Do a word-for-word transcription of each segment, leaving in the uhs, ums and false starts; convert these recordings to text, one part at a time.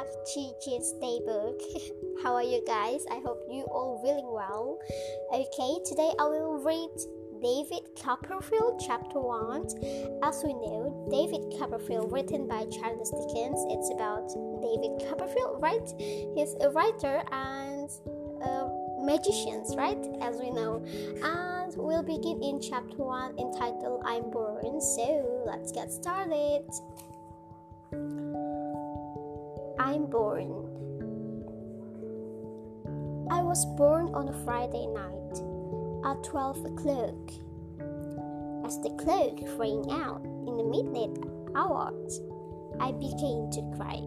back to Jean's Daybook. How are you guys? I hope you all feeling well. Okay, today I will read David Copperfield chapter one. As we know, David Copperfield, written by Charles Dickens. It's about David Copperfield, right? He's a writer and a magician, right? As we know. And we'll begin in chapter one entitled I'm Born. So let's get started. I'm born. I was born on a Friday night at twelve o'clock. As the clock rang out in the midnight hours, I began to cry.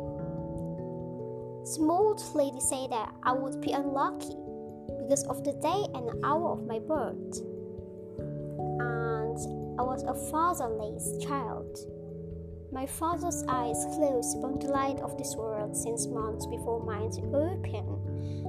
Small lady said that I would be unlucky because of the day and hour of my birth, and I was a fatherless child. My father's eyes closed upon the light of this world since months before mine opened.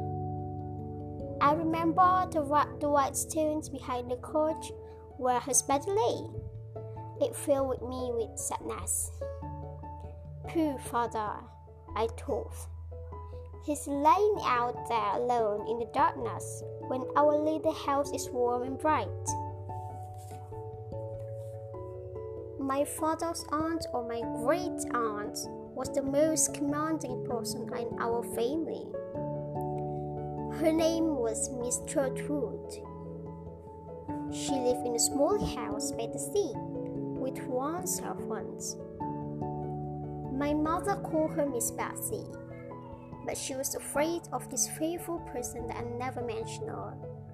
I remember the, the white stones behind the couch where his body lay. It filled with me with sadness. Poor father, I thought. He's lying out there alone in the darkness when our little house is warm and bright. My father's aunt or my great aunt was the most commanding person in our family. Her name was Miss Trotwood. She lived in a small house by the sea with one servant. My mother called her Miss Betsy, but she was afraid of this faithful person that I never mentioned her.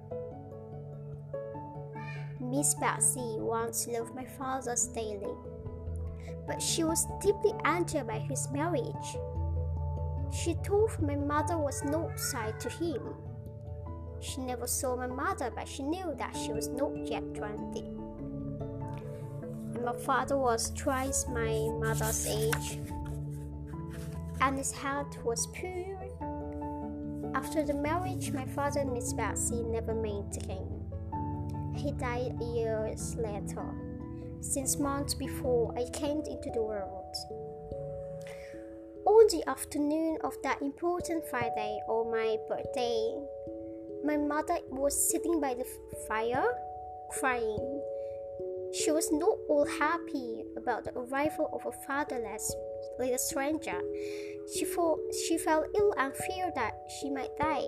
Miss Betsy once loved my father daily, but she was deeply angered by his marriage. She thought my mother was not side to him. She never saw my mother, but she knew that she was not yet twenty. And my father was twice my mother's age, and his health was poor. After the marriage, my father and Miss Betsy never met again. He died years later, six months before I came into the world. On the afternoon of that important Friday on my birthday, my mother was sitting by the fire, crying. She was not all happy about the arrival of a fatherless little stranger. She, thought, she felt ill and feared that she might die.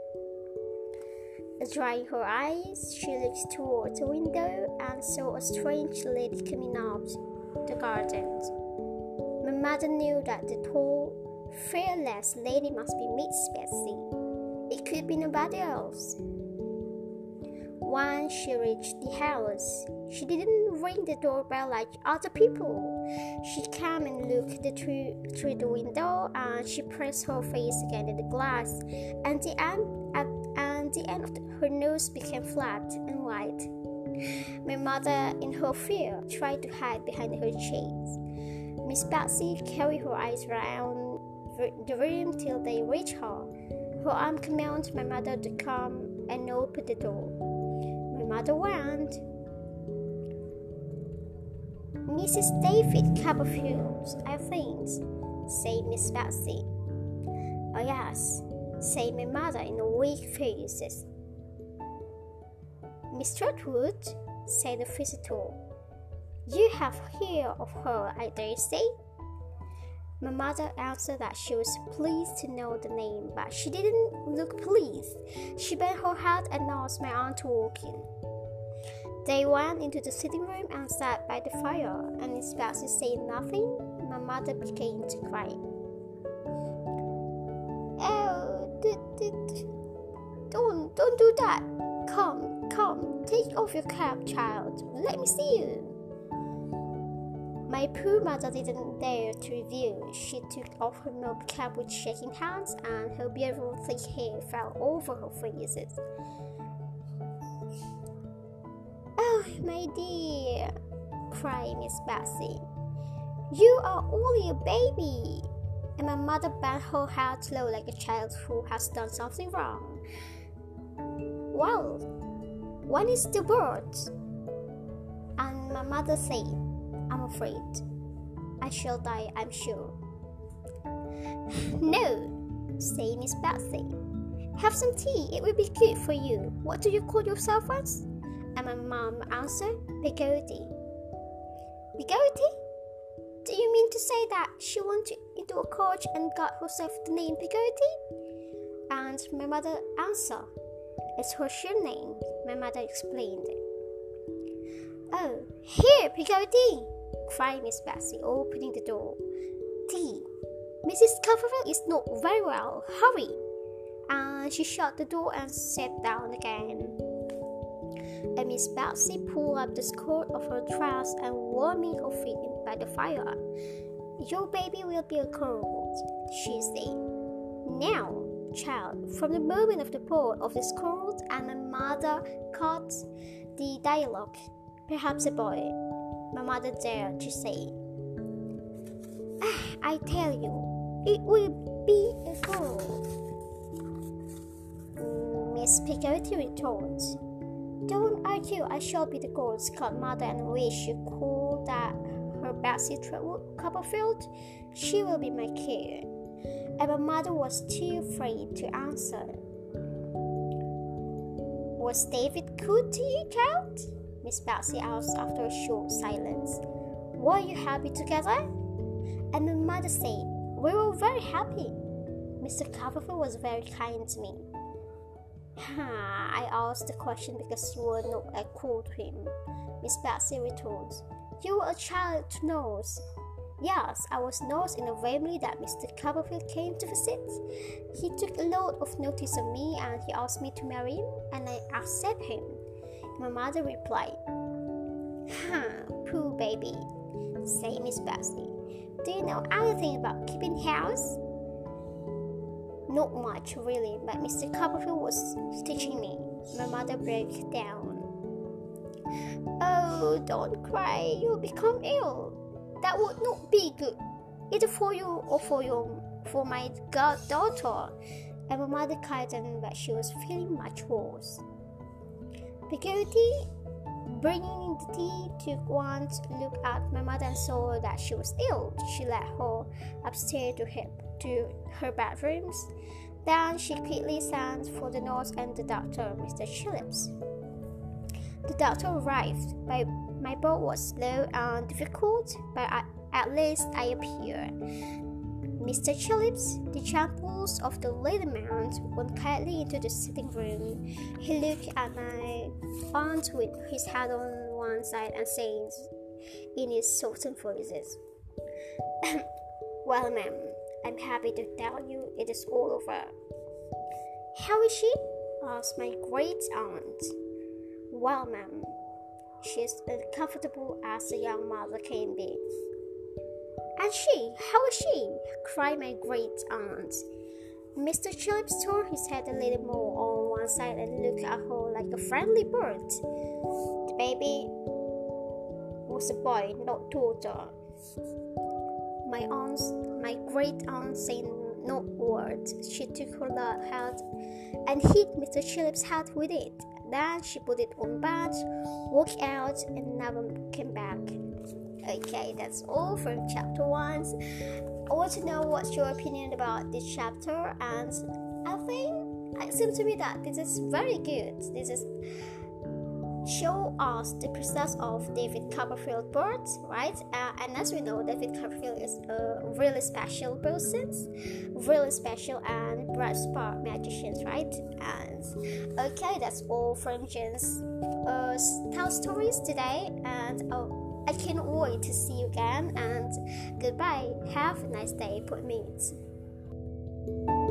Drying her eyes, she looked toward the window and saw a strange lady coming out the garden. My mother knew that the tall, fearless lady must be Miss Betsy. It could be nobody else. When she reached the house, she didn't ring the doorbell like other people. She came and looked through, through the window, and she pressed her face against the glass, and the end, at, and the end of the, her nose became flat and white. My mother, in her fear, tried to hide behind her shades. Miss Betsy carried her eyes round the room till they reached her. Her arm commanded my mother to come and open the door. My mother went. Missus David Copperfield, I think, said Miss Betsy. Oh yes, said my mother in a weak voice. Miss Trotwood, said the visitor. You have heard of her, I dare say? My mother answered that she was pleased to know the name, but she didn't look pleased. She bent her head and asked my aunt to walk in. They went into the sitting room and sat by the fire, and Miss Betsy said nothing. My mother began to cry. Oh, d- d- don't, don't do that. Come, come, take off your cap, child. Let me see you. My poor mother didn't dare to reveal. She took off her milk cap with shaking hands, and her beautiful thick hair fell over her face. Oh, my dear, cried Miss Betsy. You are only a baby. And my mother bent her head low like a child who has done something wrong. Well, when is the birth? And my mother said, I'm afraid I shall die, I'm sure. No, say Miss Betsy. Have some tea, it will be good for you. What do you call yourself as? And my mom answered, Peggy. Peggy? Do you mean to say that she went into a coach and got herself the name Peggy? And my mother answered, It's her sheer name, my mother explained. Oh, here, Peggy! Cried Miss Betsy, opening the door. Tea. Missus Copperfield is not very well. Hurry! And she shut the door and sat down again. And Miss Betsy pulled up the skirt of her dress and warming her feet by the fire. Your baby will be a girl, she said. Now, child, from the moment of the birth of the skirt, and my mother caught the dialogue. Perhaps a boy, my mother dared to say. Ah, I tell you, it will be a girl. Miss Peggy retorted. Don't argue, I shall be the girl, Scott mother, and wish you call that her Betsy Trotwood Copperfield. She will be my care. And my mother was too afraid to answer. Was David good to you, child? Miss Betsy asked after a short silence. Were you happy together? And my mother said, We were very happy. Mister Copperfield was very kind to me. I asked the question because you were not equal to him, Miss Betsy retorted. You were a child to nurse. Yes, I was nurse in a family that Mister Copperfield came to visit. He took a lot of notice of me and he asked me to marry him, and I accepted him. My mother replied, Huh, poor baby, said Miss Betsy. Do you know anything about keeping house? Not much, really, but Mister Copperfield was teaching me. My mother broke down. Oh, don't cry, you'll become ill. That would not be good, either for you or for your, for my goddaughter. And my mother cried, but she was feeling much worse. Peggy, bringing the tea, took one look at my mother and saw that she was ill. She led her upstairs to her, to her bedrooms. Then she quickly sent for the nurse and the doctor, Mister Chillips. The doctor arrived. My, my birth was slow and difficult, but I, at least I appeared. Mister Chillips, the champers of the little man, went quietly into the sitting room. He looked at my aunt with his head on one side and said in his softened voices, Well, ma'am, I'm happy to tell you it is all over. How is she? Asked my great aunt. Well, ma'am, she's as comfortable as a young mother can be. And she, how is she? Cried my great aunt. Mister Chillips turned his head a little more on one side and looked at her like a friendly bird. The baby was a boy, not daughter. My aunt, my great aunt said no word. She took her head and hit Mister Chillips' head with it. Then she put it on bed, walked out, and never came back. Okay, that's all from chapter one. I want to know what's your opinion about this chapter, and I think it seems to me that this is very good. This is show us the process of David Copperfield birth, right? Uh, and as we know, David Copperfield is a really special person, really special and bright spark magicians, right? And okay, that's all from Jen's uh, tell stories today, and oh, I can't wait to see you again, and goodbye. Have a nice day, put meat.